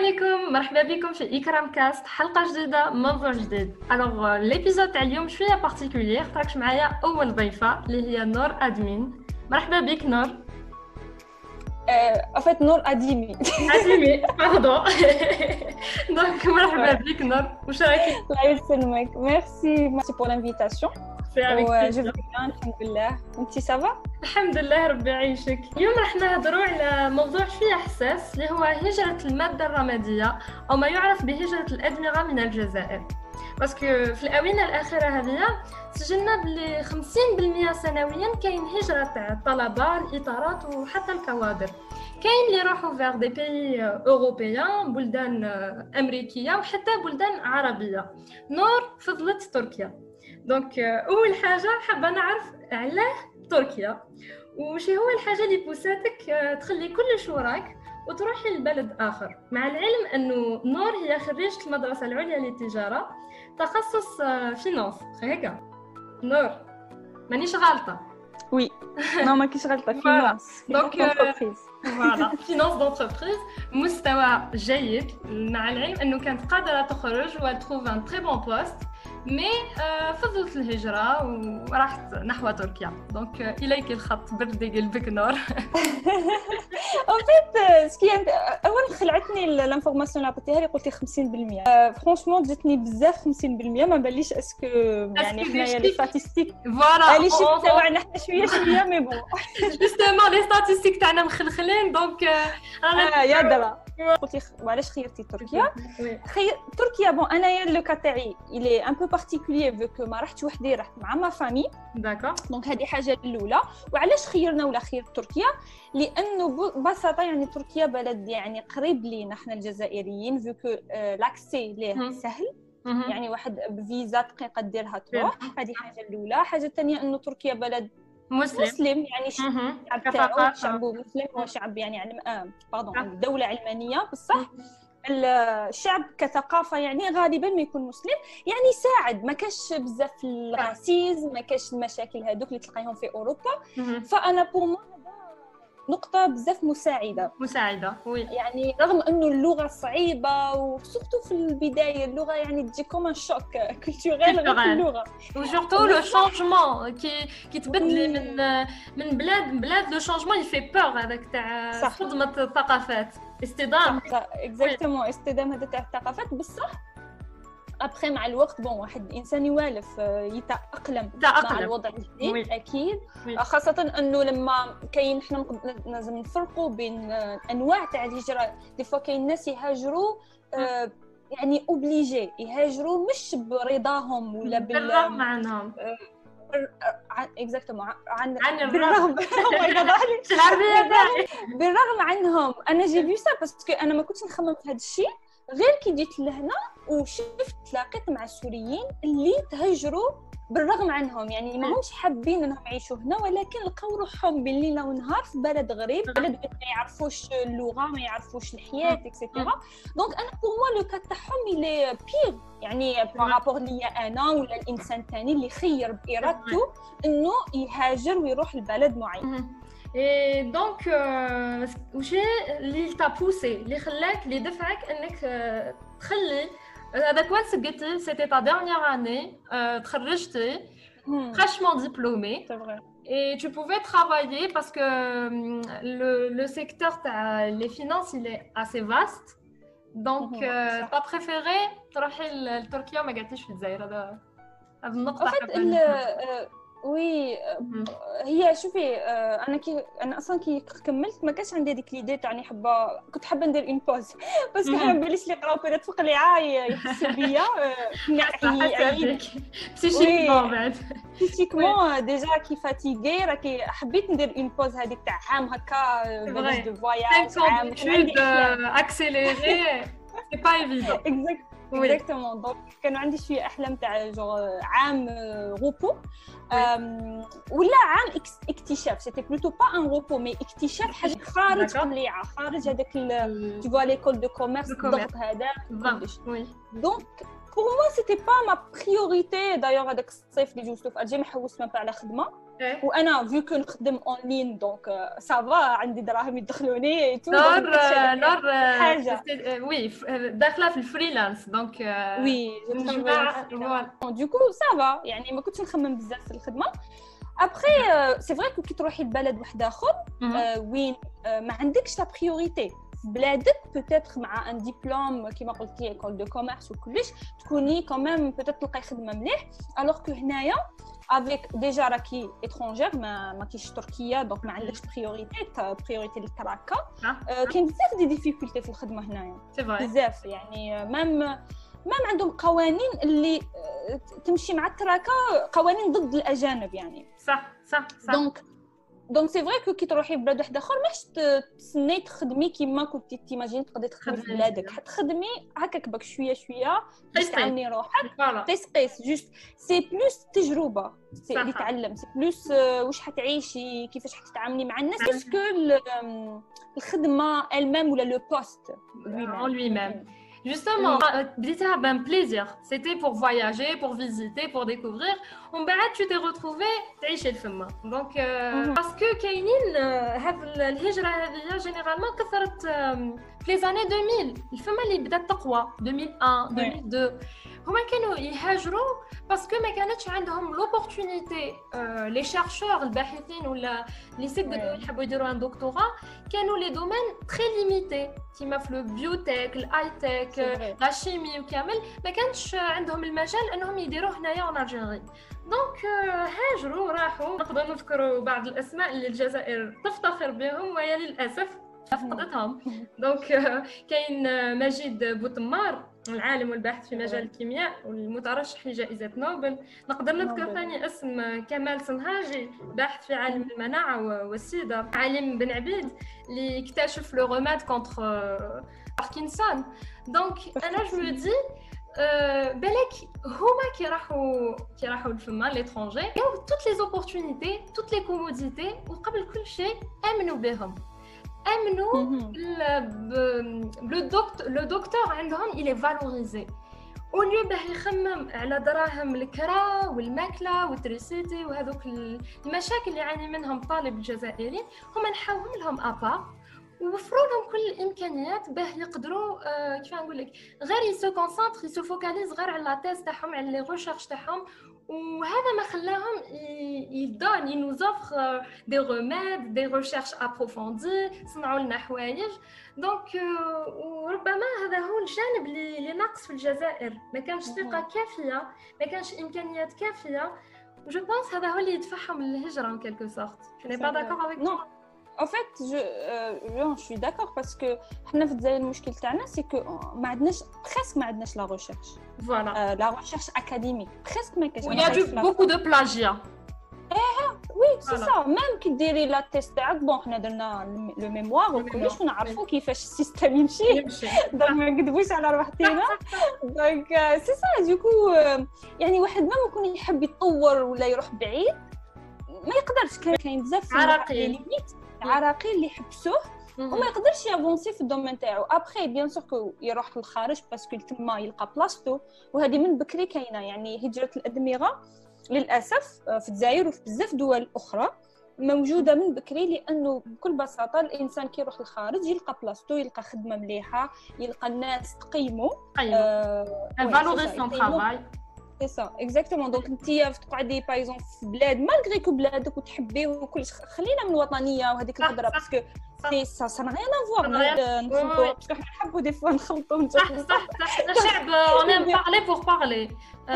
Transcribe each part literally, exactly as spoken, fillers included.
عليكم، مرحبا بكم في إكرام كاست، حلقة جديدة موضوع جديد. الوغ ليبيزود تاع اليوم شوية بارتيكولير، خاطرش معايا أول ضيفة اللي هي نور أدمين. مرحبا بك نور. En fait, Nour Adimi. Adimi, pardon. Donc, مرحبا بك نور. واش راكي؟ الله يسلمك. Merci, merci pour l'invitation. C'est avec plaisir. Je vais bien, alhamdoulilah. انتي ça va؟ الحمد لله ربي يعيشك. اليوم راح نهضروا على موضوع شويه حساس اللي هو هجرة المادة الرمادية أو ما يعرف بهجرة الأدمغة من الجزائر. باسكو في الآونة الأخيرة هذه سجلنا بلي خمسين بالمئة سنويا كاين هجرة تاع الطلبة، الإطارات وحتى الكوادر. كاين اللي يروحوا فيغ دي بيي اوروبيان، بلدان امريكيه وحتى بلدان عربيه. نور فضلت تركيا. دونك اول حاجه حابه نعرف علاه تركيا، وش هو الحاجه اللي بوساتك تخلي كل وراك وتروحي لبلد اخر، مع العلم انه نور هي خريجه المدرسه العليا للتجاره تخصص فينانس. هكا نور مانيش غلطه؟ وي نو ما كاينش غلطه. فينانس دونك فوالا فينانس دونتربريز، مستوى جيد، مع العلم انه كانت قادره تخرج وتروف ان تري بون بوست، مي فضلت الهجره وراحت نحو تركيا. دونك اليك الخط، بردي قلبك نور. ان فيت سكي اول خلعتني الانفورماسيون اللي عطيتيها لي، قلتي خمسين بالمئة. فرونشمون جاتني بزاف خمسين بالمئة، ما باليش اسكو يعني حنايا لي ستاتستيك فوالا لي شيف تاعنا حنا شويه شويه مي بون جوستومون لي ستاتستيك تاعنا مخلخلين. دونك اه يا درا قلتي وعلاش خيرتي تركيا؟ خير تركيا بون انايا لو كا تاعي الي ان بو بارتيكولير فيكو ما رحتش وحدي، رحت مع ما فامي. داكور. دونك هذه حاجه الاولى. وعلاش خيرنا ولا خير تركيا؟ لانه ببساطه يعني تركيا بلد يعني قريب لينا حنا الجزائريين، فيكو لاكسي ليه سهل، يعني واحد بفيزا دقيقه ديرها تروح. هذه حاجه الاولى. حاجه الثانيه انه تركيا بلد مسلم, مسلم يعني الشعب تاعو شعبه مسلم، هو شعب يعني علم آه باردون دولة علمانية بصح. الشعب كثقافة يعني غالبا ما يكون مسلم، يعني يساعد، ما كاش بزاف الراسيزم، ما كاش المشاكل هذوك اللي تلقايهم في أوروبا. فأنا بور نقطة بزاف مساعدة مساعدة وي. يعني رغم انه اللغة صعيبة وسورتو في البداية اللغة يعني تجي كوم شوك كولتوريل غير في اللغة، وسورتو لو شانجمون كي كي تبدلي من من بلاد بلاد، لو شانجمون يفي بور هذاك تاع صدمة الثقافات، اصطدام. اكزاكتومون اصطدام هذا تاع الثقافات. بصح ابخي مع الوقت بون واحد الانسان يوالف يتاقلم مع الوضع الجديد اكيد. خاصه انه لما كاين حنا لازم نفرقوا بين انواع تاع الهجره. دي فوا كاين ناس يهاجروا آه يعني اوبليجي يهاجروا مش برضاهم ولا بالرغم عنهم. اكزاكتومون عن بالرغم بالرغم عنهم. انا جي في سا باسكو انا ما كنتش نخمم في هذا الشيء غير كي جيت لهنا وشفت تلاقيت مع السوريين اللي تهجروا بالرغم عنهم، يعني ما همش حابين انهم يعيشوا هنا، ولكن لقاو روحهم بالليل ونهار في بلد غريب، بلد ما يعرفوش اللغه، ما يعرفوش الحياه اكسيتيرا. دونك انا بور موا لو كا تاعهم لي بير يعني بارابور ليا انا ولا الانسان الثاني اللي خير بارادته انه يهاجر ويروح لبلد معين. اي دونك واش اللي تا بوسي اللي خلاك اللي دفعك انك تخلي هذاك وين سقيتي سيتي تا ديرنيير اني تخرجتي fraîchement diplômée et tu pouvais travailler parce que le le secteur تاع les finances il est assez vaste. donc t'as préféré تروحي لتركيا وما قعدتيش في الجزائر؟ هذا هذه النقطه وي هي شوفي انا كي انا اصلا كي كملت ما كانش عندي هذيك ليدي تاعني حابه، كنت حابه ندير اون بوز باسكو انا بليش لي قراو بيريت فوق لي عاي يحسوا بيا نعي بسيكيكمون بعد بسيكيكمون ديجا كي فاتيغي راكي حبيت ندير اون بوز هذيك تاع عام هكا بلاش دو فواياج عام اكسيليري سي با ايفيدون. اكزاكتومون دونك كانوا عندي شويه احلام تاع جوغ عام غوبو ولا عام اكتشاف. سيتي بلوتو با ان غوبو مي اكتشاف حاجه خارج طليعه، خارج هذاك تو فوا ليكول دو كوميرس الضغط هذا كلش. دونك pour moi c'était pas ma priorité d'ailleurs هذاك الصيف اللي جوزته في الجزائر ما حوست ما على خدمه وانا فيو كو نخدم اون لين دونك سافا عندي دراهم يدخلوني تو نور نور حاجه وي داخله في الفريلانس دونك وي دوكو سافا يعني ما كنتش نخمم بزاف في الخدمه. ابري سي فري كو كي تروحي لبلد واحد اخر وين ما عندكش لا بريوريتي في بلادك بوتيتر مع ان ديبلوم كيما قلتي ايكول دو كوميرس وكلش تكوني كوميم بوتيتر تلقاي خدمه مليح الوغ كو هنايا افيك ديجا راكي اترونجير ما ما كاينش تركيا دونك ما عندكش بريوريتي بريوريتي للتراكه كاين بزاف دي ديفيكولتي في الخدمه هنايا بزاف يعني مام مام عندهم قوانين اللي تمشي مع التراكه قوانين ضد الاجانب يعني صح صح صح دونك دونك سي فري كو كي تروحي بلاد واحد اخر ماش تسني تخدمي كيما كنتي تيماجين تقدري تخدمي في بلادك حتخدمي هكاك باك شويه شويه باش تعلمي روحك تسقيس جوست سي بلوس تجربه سي اللي تعلم سي بلوس واش حتعيشي كيفاش حتتعاملي مع الناس باسكو الخدمه المام ولا لو بوست lui même Justement, بديتها بان بليزير سيتي بور فواياجي بور فيزيتي بور ديكوفرير ومن بعد tu t'es retrouvé تعيشي الفما دونك باسكو كاينين هاد الهجره هذه جينيرالمون كثرت في لي زاني ألفين الفما اللي بدات تقوى ألفين وواحد ألفين واثنين هما كانوا يهاجروا باسكو ما كانتش عندهم لوبورتونيتي لي شيرشور الباحثين ولا لي سيت دو يحبوا يديروا ان دكتوراه كانوا لي دومين تري ليميتي كيما في لو بيوتيك الاي تك لا شيمي وكامل ما كانش عندهم المجال انهم يديروه هنايا اون الجيري دونك هاجروا راحوا نقدروا نذكروا بعض الاسماء اللي الجزائر تفتخر بهم وهي للاسف فقدتهم دونك كاين مجيد بوتمار العالم والباحث في مجال الكيمياء والمترشح لجائزة نوبل. نقدر نذكر ثاني اسم كمال صنهاجي باحث في عالم المناعة والسيدا. علم بن عبيد اللي اكتشف لو روماد كونتر باركنسون. دونك انا جو مو دي بالك هما كي راحوا كي راحوا لفما ليترونجي ياو توت لي زوبورتونيتي توت لي كوموديتي وقبل كل شيء امنوا بهم امنوا لو دكتور لو دكتور عندهم il est valorisé au lieu باه يخمم على دراهم الكرا والماكله والتريسيتي وهذوك المشاكل اللي يعاني منهم الطالب الجزائري هما نحاولهم لهم ابا ووفروا لهم كل الامكانيات باه يقدروا آه كيف نقول لك غير يسو كونسونطر يسو فوكاليز غير على لا تيست تاعهم على لي ريشيرش تاعهم وهذا ما خلاهم يدون ينوزوفر دي روميد دي ريشيرش ابروفوندي صنعوا لنا حوايج. دونك وربما هذا هو الجانب اللي ناقص في الجزائر، ما كانش ثقه كافيه، ما كانش امكانيات كافيه. جو بونس هذا هو اللي يدفعهم للهجره ان كيلكو سورت. جو ني با داكور افيك نو En fait, je, euh, je suis d'accord parce que حنا في الجزائر المشكل تاعنا سي كو ما عندناش presque ما عندناش لا ريشيرش. فوالا. لا ريشيرش اكاديميك presque ما كاينش. Il y a du beaucoup de plagiat. ايه وي سي سا ميم كي ديري لا تيست تاعك بون حنا درنا لو ميموار وكلش ونعرفوا كيفاش السيستم يمشي دونك ما نكذبوش على روحتينا. دونك سي سا دوكو يعني واحد ما يكون يحب يتطور ولا يروح بعيد ما يقدرش. كاين بزاف عراقيل عراقيل اللي يحبسوه وما يقدرش يافونسي في الدومين تاعو. ابري بيان سور كو يروح للخارج باسكو تما يلقى بلاصتو وهذه من بكري كاينه. يعني هجره الادمغه للاسف في الجزائر وفي بزاف دول اخرى موجوده من بكري لانه بكل بساطه الانسان كي يروح للخارج يلقى بلاصتو يلقى خدمه مليحه يلقى الناس تقيمو فالوريز سون طرافاي. سي سا اكزاكتومون. دونك انتيا تقعدي باغ اكزومبل في بلاد مالغري كو بلادك وتحبيه وكلش خلينا من الوطنيه وهذيك الهضره باسكو سي سا سا نغيان افوار نخلطوا باسكو حنا نحبوا دي فوا نخلطوا. صح صح صح الشعب اون ام بارلي بور بارلي.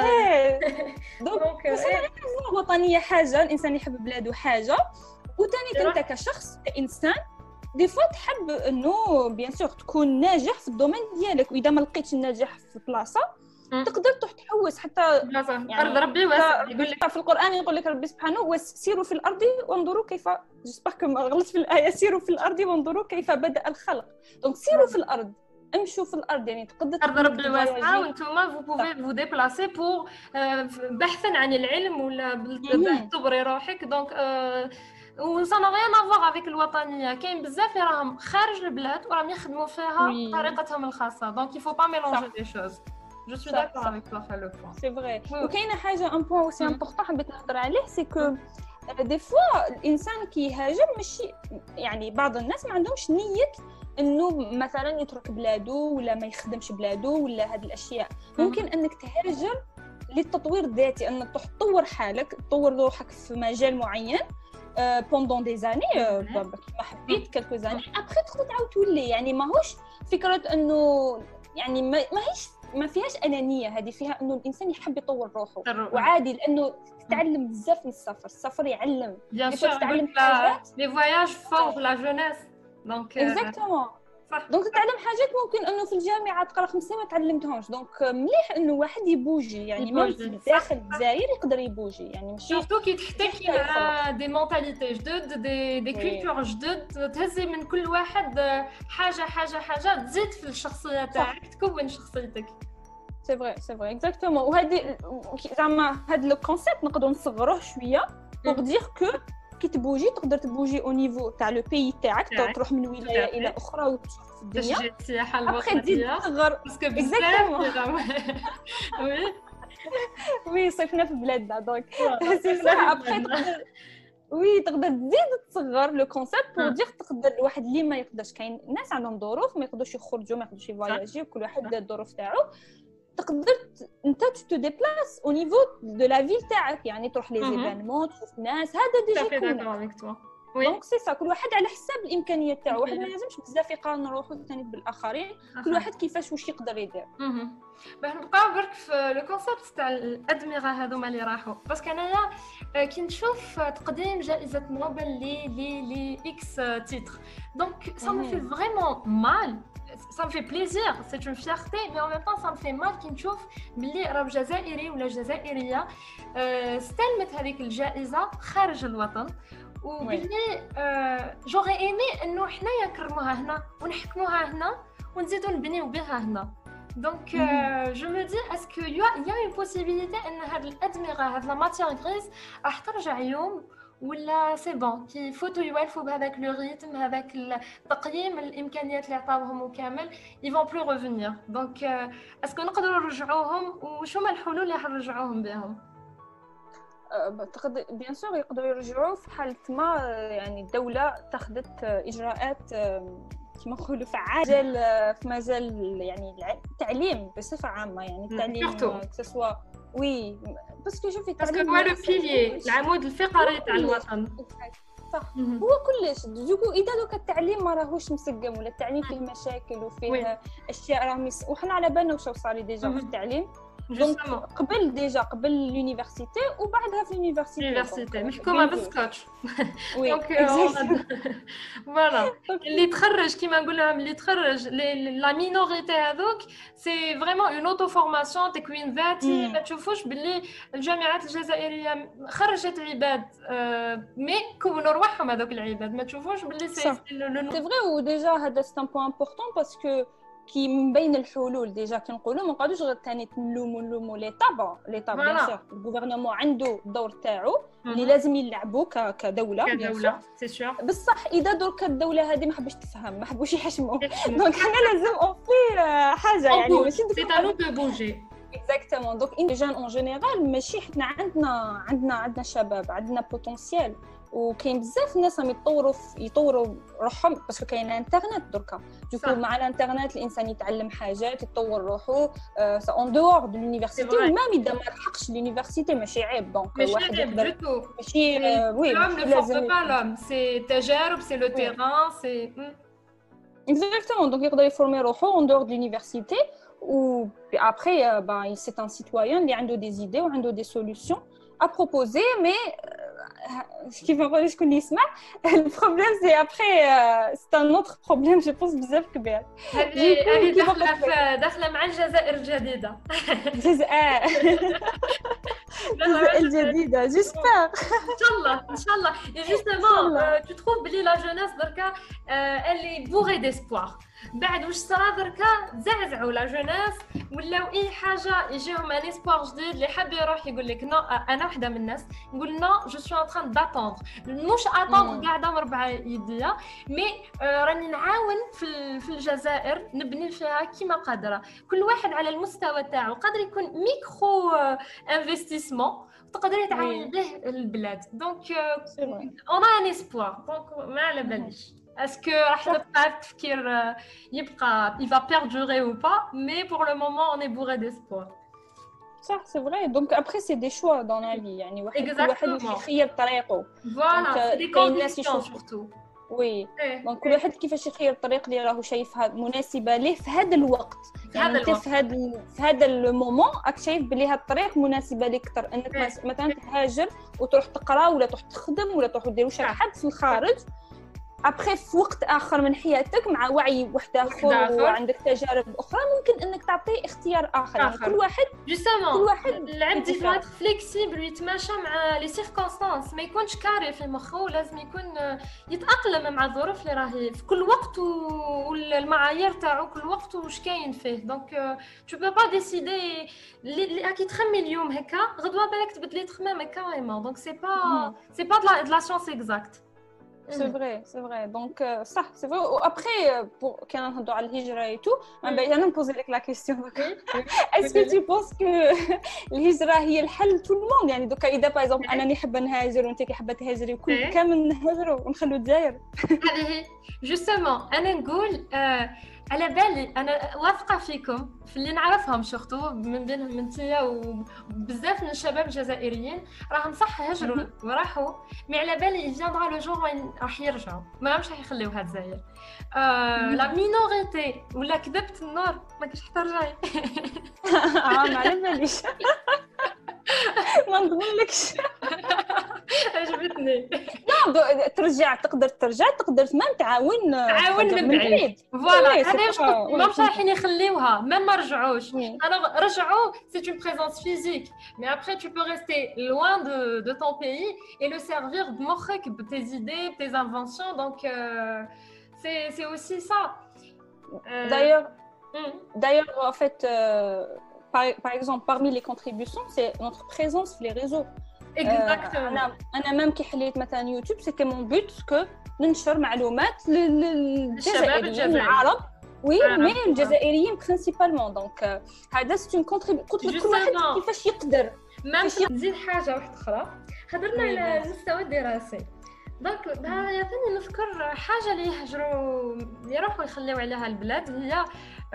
دونك الوطنيه حاجه الانسان يحب بلاده حاجه وثاني انت كشخص كانسان دي فوا تحب انه بيان سور تكون ناجح في الدومين ديالك واذا ما لقيتش الناجح في بلاصه تقدر تروح تحوس حتى يعني ارض ربي واسع. يقول لك في القران يقول لك ربي سبحانه وسيروا في الارض وانظروا كيف جسبر كما غلطت في الايه سيروا في الارض وانظروا كيف بدا الخلق. دونك سيروا في الارض امشوا في الارض يعني تقدر ارض ربي واسعه وانتم فو بوفي فو ديبلاسي بور بحثا عن العلم ولا تبري روحك. دونك وصلنا غير نافوغ افيك الوطنيه. كاين بزاف اللي راهم خارج البلاد وراهم يخدموا فيها بطريقتهم الخاصه. دونك يفو با ميلونجي دي شوز. جو سوي داكور افيك toi في لو بوين سي فري. وكاينه حاجه ان بوين اوسي امبورطون حبيت نهضر عليه سي كو دي فوا الانسان كيهاجر ماشي يعني بعض الناس ما عندهمش نيه انه مثلا يترك بلاده ولا ما يخدمش بلاده ولا هذه الاشياء. ممكن انك تهاجر للتطوير الذاتي، انك تطور حالك تطور روحك في مجال معين بوندون دي زاني كما حبيت كالكو زاني ابخي تقدر تعاود تولي. يعني ماهوش فكره انه يعني ما هيش ما فيهاش انانيه، هذه فيها انه الانسان يحب يطور روحه وعادي، لانه تتعلم بزاف من السفر. السفر يعلم بيان سور تتعلم حاجات لي فواياج فور لا جونيس دونك اكزاكتومون. دونك تتعلم حاجات ممكن انه في الجامعه تقرا خمس سنين ما تعلمتهمش. دونك مليح انه واحد يبوجي يعني من داخل الجزائر يقدر يبوجي يعني ماشي سورتو كي تحتكي مع دي مونتاليتي جدد دي دي كولتور جدد تهزي من كل واحد حاجه حاجه حاجه تزيد في الشخصيه تاعك تكون شخصيتك. سي فري سي فري اكزاكتومون. وهذه زعما هذا لو كونسيبت نقدروا نصغروه شويه بوغ دير كو كي تبوجي تقدر تبوجي او نيفو تاع لو بيي تاعك تروح من ولايه الى اخرى وتشوف الدنيا تجي السياحه الوطنيه باسكو بزاف وي وي صيفنا في بلادنا دونك سي سا ابخي تقدر وي تقدر تزيد تصغر لو كونسيبت بور دير تقدر الواحد اللي ما يقدرش. كاين ناس عندهم ظروف ما يقدروش يخرجوا ما يقدروش يفواياجي وكل واحد الظروف تاعو. تقدر انت تو ديبلاس او نيفو دو لا فيل تاعك يعني تروح لي زيفينمون تشوف ناس هذا ديجا يكون دونك سي سا كل واحد على حساب الامكانيات تاعو. واحد ما لازمش بزاف يقارن روحو ثاني بالاخرين كل واحد كيفاش واش يقدر يدير. باش نبقاو برك في لو كونسيبت تاع الادمغه هذوما اللي راحوا باسكو انايا كي نشوف تقديم جائزه نوبل لي لي لي اكس تيتر دونك سا مي في فريمون مال. Ça me fait plaisir, c'est une fierté, mais en même temps ça me fait mal كي نشوف بلي راه جزائري ولا جزائريه استلمت هذيك الجائزه خارج الوطن وبلي جوغي ايمي انه حنايا نكرموها هنا ونحكموها هنا ونزيدو نبنيو بها هنا. دونك جو مو دي اسكو يا يا اون بوسيبيليتي ان هاد الادمغه هاد لا ماتيير غريز راح ترجع يوم ولا سي بون كي فوتو يوالفوا بهذاك لو ريتم هذاك التقييم الامكانيات اللي عطاوهم كامل يفون بلو ريفونير. دونك اسكو نقدروا نرجعوهم وشو هما الحلول اللي حنرجعوهم بهم؟ تقدر بيان سور يقدروا يرجعوا في حاله ما يعني الدوله تاخذت اجراءات كما نقولوا فعال في مجال يعني التعليم بصفه عامه يعني التعليم سواء وي باسكو شوفي التعليم هو لو بيلي العمود الفقري تاع الوطن صح. هو كلش دوكو اذا دوك التعليم ما راهوش مسقم ولا التعليم فيه مشاكل وفيه اشياء راهم وحنا على بالنا واش صار ديجا في التعليم دونك قبل ديجا قبل لونيفرسيتي وبعدها في لونيفرسيتي محكومه بالسكوتش دونك فوالا اللي تخرج كيما نقول لهم اللي تخرج لا مينوريتي هذوك سي فريمون اون اوتو فورماسيون تكوين ذاتي. ما تشوفوش باللي الجامعات الجزائريه خرجت عباد مي كونوا روحهم هذوك العباد ما تشوفوش باللي سي سي فري. وديجا هذا سي ان بوين امبورطون باسكو كي من بين الحلول ديجا كنقولوا ما نقعدوش غير ثاني نلوموا نلوموا ليطا بون ليطا بيان سور الغوفرنمون عنده الدور تاعو اللي لازم يلعبوا كدوله كدوله سي سور. بصح اذا درك الدوله هذه ما حبش تفهم ما حبوش يحشموا دونك حنا لازم اونفي حاجه يعني ماشي سي تانو دو بوجي اكزاكتومون. دونك ان جان اون جينيرال ماشي حنا عندنا عندنا عندنا شباب عندنا بوتونسيال وكاين بزاف الناس راهم يطوروا يطوروا روحهم باسكو كاين الانترنت دركا دوكو مع الانترنت الانسان يتعلم حاجات يطور روحو سا اون دور دو لونيفرسيتي ومام اذا ما لحقش لونيفرسيتي ماشي عيب. دونك واحد يقدر ماشي وي لازم لازم سي تجارب سي لو تيران سي اكزاكتومون. دونك يقدر يفورمي روحو اون دور دو لونيفرسيتي و après bah c'est un citoyen اللي عنده des idées وعنده des solutions à proposer mais كيف نقول شكون اللي يسمع البروبليم سي ابري سي ان اوتر بروبليم جو بونس بزاف كبير. هذه داخله داخله مع الجزائر الجديده الجزائر الجديده جيسبر ان شاء الله ان شاء الله. جوستومون تو تروف بلي لا جونيس دركا اللي بوغي ديسبوار بعد واش صرا دركا زعزعوا لا جوناس ولاو اي حاجه يجيهم ان اسبوار جديد اللي حاب يروح يقول لك نو. انا وحده من الناس نقول نو جو سوي ان تران داتوندر مش اتوندر قاعده مربعه يديا مي آه راني نعاون في في الجزائر نبني فيها كيما قادره كل واحد على المستوى تاعو قادر يكون ميكرو آه انفستيسمون تقدري تعاوني به البلاد دونك اون ان اسبوار دونك ما على باليش اسكو راح نبقى التفكير يبقى il va perdurer ou pas mais pour le moment on est bourré d'espoir. صح سي فري دونك ابري سي دي شوا دون لا في يعني واحد كل واحد يخير طريقه فوالا دي كونديسيون سورتو وي دونك كل واحد كيفاش يخير الطريق اللي راهو شايفها مناسبه ليه في هذا الوقت يعني انت في هذا في هذا المومون راك شايف بلي هذا الطريق مناسبه لك اكثر انك مثلا تهاجر وتروح تقرا ولا تروح تخدم ولا تروح دير واش حد في الخارج ابخي في وقت اخر من حياتك مع وعي واحد اخر وعندك تجارب اخرى ممكن انك تعطيه اختيار اخر يعني كل واحد جوستومون كل واحد العبد يفوت فليكسيبل ويتماشى مع لي سيركونستانس ما يكونش كاري في مخه لازم يكون يتاقلم مع الظروف اللي راهي في كل وقت والمعايير تاعو كل وقت واش كاين فيه دونك تو بو با ديسيدي اللي كي تخمي اليوم هكا غدوه بالك تبدلي تخمامك كاريمون دونك سي با سي با دو لا سيونس اكزاكت. C'est vrai, c'est vrai. Donc, euh, ça, c'est vrai. Après, pour quand on doit aller hijra et tout, je vais me poser la question. Est-ce que tu penses que الهجرة هي الحل tout le monde يعني دوكا إذا par exemple أنا نحب نهاجر وأنت كحبة تهاجري وكل كامل نهاجروا ونخلوا الجزائر. هذه justement أنا نقول على بالي أنا واثقة فيكم في اللي نعرفهم شفتوا من بينهم انتيا وبزاف من الشباب الجزائريين راهم صح هجروا وراحوا مي على بالي يجينا لو جور وين راح يرجعوا ما راهمش راح يخليوها الجزائر لا مينوريتي ولا كذبت النور ما كاش حتى رجعي اه ما على باليش ما نضمنلكش عجبتني لا ترجع تقدر ترجع تقدر ما تعاون تعاون من بعيد فوالا هذا واش ما مش رايحين يخليوها ما ما رجعوش انا رجعوا سي اون بريزونس فيزيك مي ابري tu peux rester loin de de ton pays et le servir بمخك بtes idées tes inventions donc euh, c'est c'est aussi ça euh, d'ailleurs d'ailleurs en fait euh, par, par exemple parmi les contributions c'est notre présence sur les réseaux. Exactement. انا انا ميم كي حليت مثلا يوتيوب سيتي مون بوت كو ننشر معلومات للجزائريين العرب وي مي الجزائريين برينسيبالمون دونك هذا سي اون كونتريبيو قلت لك كل واحد كيفاش يقدر ميم نزيد حاجه واحده اخرى هضرنا على المستوى الدراسي دونك هذا يعطيني نذكر حاجه اللي يهجروا يروحوا يخليو عليها البلاد هي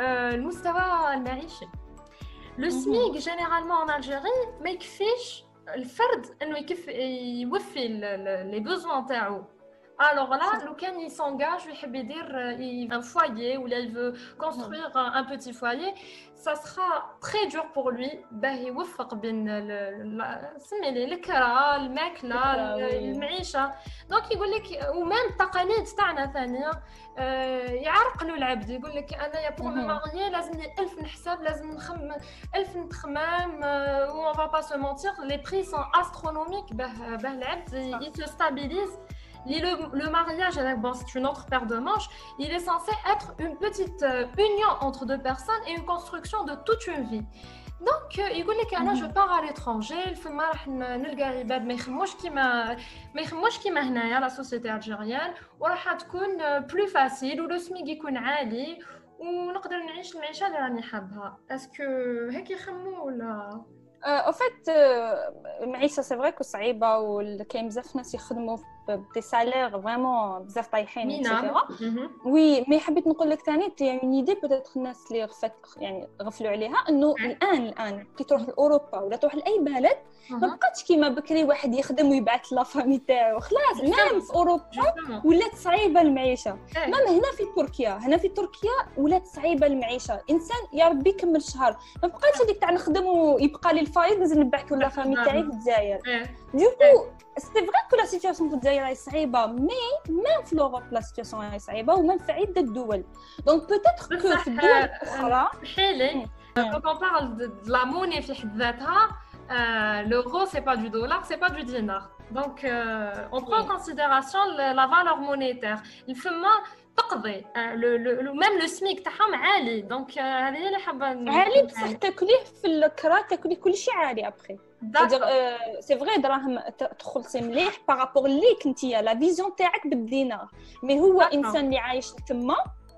المستوى المعيشي لو سميك جينيرالمون ان الجيري ما يكفيش الفرد انه يكف يوفي لي بوزوان تاعو alors là لو كان يسونغاج ويحب يدير un foyer ولا il veut construire un petit foyer ça sera très dur pour lui باه يوفق بين سمي لي الكرا الماكله المعيشه دونك يقول لك ومام التقاليد تاعنا ثانيه يعرقلوا العبد يقول لك انا يا بور ماريي لازمني ألف نحسب لازم نخمم ألف نتخمام و on va pas se mentir les prix sont astronomiques باه باه العبد il se stabilise. Le, le mariage, bon, c'est une autre paire de manches. Il est censé être une petite euh, union entre deux personnes et une construction de toute une vie. Donc, il dit que moi, je pars à l'étranger. Il faut que نلقى عباد ما يخموش كيما ما يخموش كيما هنايا la société algérienne وراح تكون plus facile ولو سميك يكون عالي ونقدر نعيش المعيشه اللي راني حابها. اسكو هيك يخموا ولا؟ او فيت المعيشه سي فري كو صعيبه وكاين بزاف ناس يخدموا بدي سالير فريمون بزاف طايحين ايتترا وي مي حبيت نقول لك ثاني تي اون ايدي بوتيتر الناس اللي غفت يعني غفلوا عليها انه الان الان كي تروح لاوروبا ولا تروح لاي بلد ما بقاتش كيما بكري واحد يخدم ويبعث لا فامي تاعو خلاص ميم في اوروبا ولات صعيبه المعيشه ميم هنا في تركيا هنا في تركيا ولات صعيبه المعيشه انسان يا ربي كمل شهر ما بقاتش هذيك تاع نخدم ويبقى لي الفايض نزيد نبعث لا فامي تاعي في الجزائر دوكو سي فري كو لا سيتوياسيون في الجزائر راهي صعيبه مي ميم في لوروب لا سيتوياسيون راهي صعيبه وميم في عده دول دونك بوتيتر كو في الدول الاخرى حيلي quand on parle de, de la monnaie في حد ذاتها euh, l'euro c'est pas du dollar c'est pas du dinar donc euh, on prend en considération la, la valeur monétaire il faut تقضي لو لو ميم لو سميك تاعهم عالي دونك هذه هي اللي حابه عالي بصح تاكليه في الكرا تاكلي كلشي عالي ابخي سي فري دراهم تخلصي مليح بارابور ليك نتيا لا فيزيون تاعك بالدينار مي هو انسان اللي عايش تما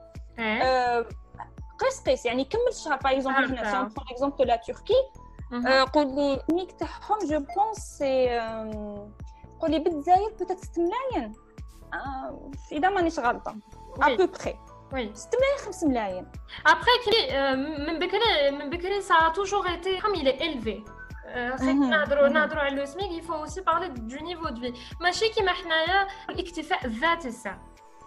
قيس قيس يعني كمل الشهر باغ اكزومبل هنا سي بون اكزومبل لا تركي قولي ميك تاعهم جو بونس سي قولي بالجزائر بوتيت ستة ملايين اذا مانيش غلطه ا بو بري وي ستة ملايين خمسة ملايين ابري كي من بكري من بكري سا توجور ايتي كوم il est élevé خير نهضروا نهضروا على لو سميك il faut aussi parler du niveau de vie ماشي كيما حنايا الاكتفاء الذاتي الساعه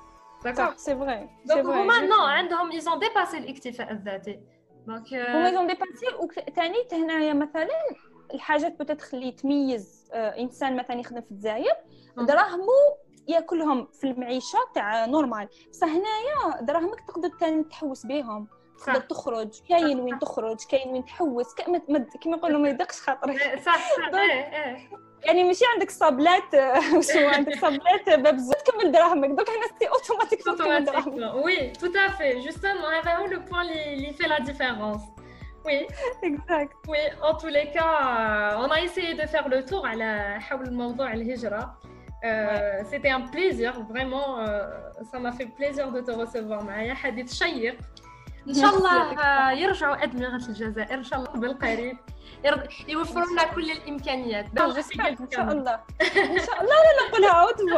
صح سي فري دونك هما نو عندهم ils ont dépassé الاكتفاء الذاتي دونك هما ils ont dépassé وثاني هنايا مثلا الحاجات بوتيت اللي تميز انسان مثلا يخدم في الجزائر دراهمو ياكلهم في المعيشه تاع نورمال بصح هنايا دراهمك تقدر ثاني تحوس بهم تقدر تخرج كاين وين تخرج كاين وين تحوس كيما نقولوا ما يدقش خاطرك صح صح ايه يعني ماشي عندك صابلات شو عندك صابلات باب الزوت تكمل دراهمك دوك هنا سي اوتوماتيك تكمل دراهمك وي تو افي جوستومون هذا هو لو بوين اللي في لا ديفيرونس Oui, exact. Oui, en tous les cas, on a essayé de faire le tour على حول الموضوع الهجرة. Euh, c'était un plaisir, vraiment, euh, ça m'a fait plaisir de te recevoir معايا حديث شيق. إن شاء الله يرجعوا أدمغة الجزائر إن شاء الله بالقريب يوفروا لنا كل الإمكانيات. إن شاء الله إن شاء الله لا نقولها عاود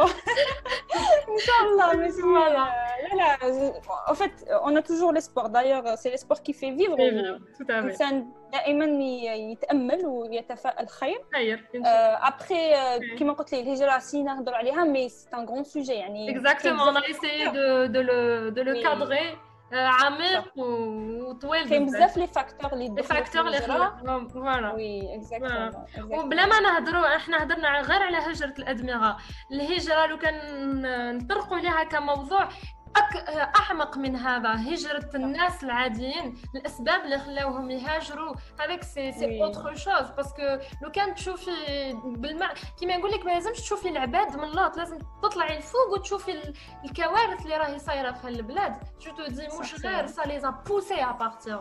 إن شاء الله ماشي لا لا en fait on a toujours l'espoir d'ailleurs c'est l'espoir qui fait vivre الإنسان دائما يتأمل ويتفائل خير خير après كما قلت لي الهجرة سي نهضروا عليها mais c'est un grand sujet يعني exactement on a essayé de de le de le cadrer عميق وطويل كاين بزاف لي فاكتور اللي لي فاكتور اللي فوالا وي اكزاكتومون وبلا ما نهضروا احنا هضرنا غير على هجرة الأدمغة الهجرة لو كان نطرقوا ليها كموضوع أعمق من هذا هجرة الناس العاديين الأسباب اللي خلاوهم يهاجروا هذاك سي سي اوتر شوز باسكو لو كان تشوفي بالماء كيما نقول لك ما لازمش تشوفي العباد من اللوط لازم تطلعي الفوق وتشوفي الكوارث اللي راهي صايره في هالبلاد جو تو دي مش غير سا لي بوسي ا بارتير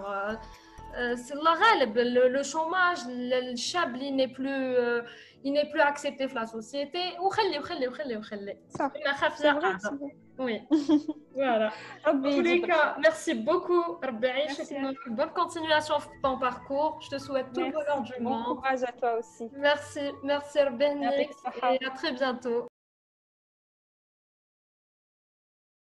سي الله غالب لو شوماج الشاب اللي ني بلو il n'est plus accepté dans la société وخلي وخلي وخلي وخلي صح ما خاف يقع oui voilà en tous les cas merci beaucoup ربي يعيشك bonne continuation في ton parcours je te souhaite tout le bonheur du monde bon courage à toi aussi merci merci ربي يهنيك et à très bientôt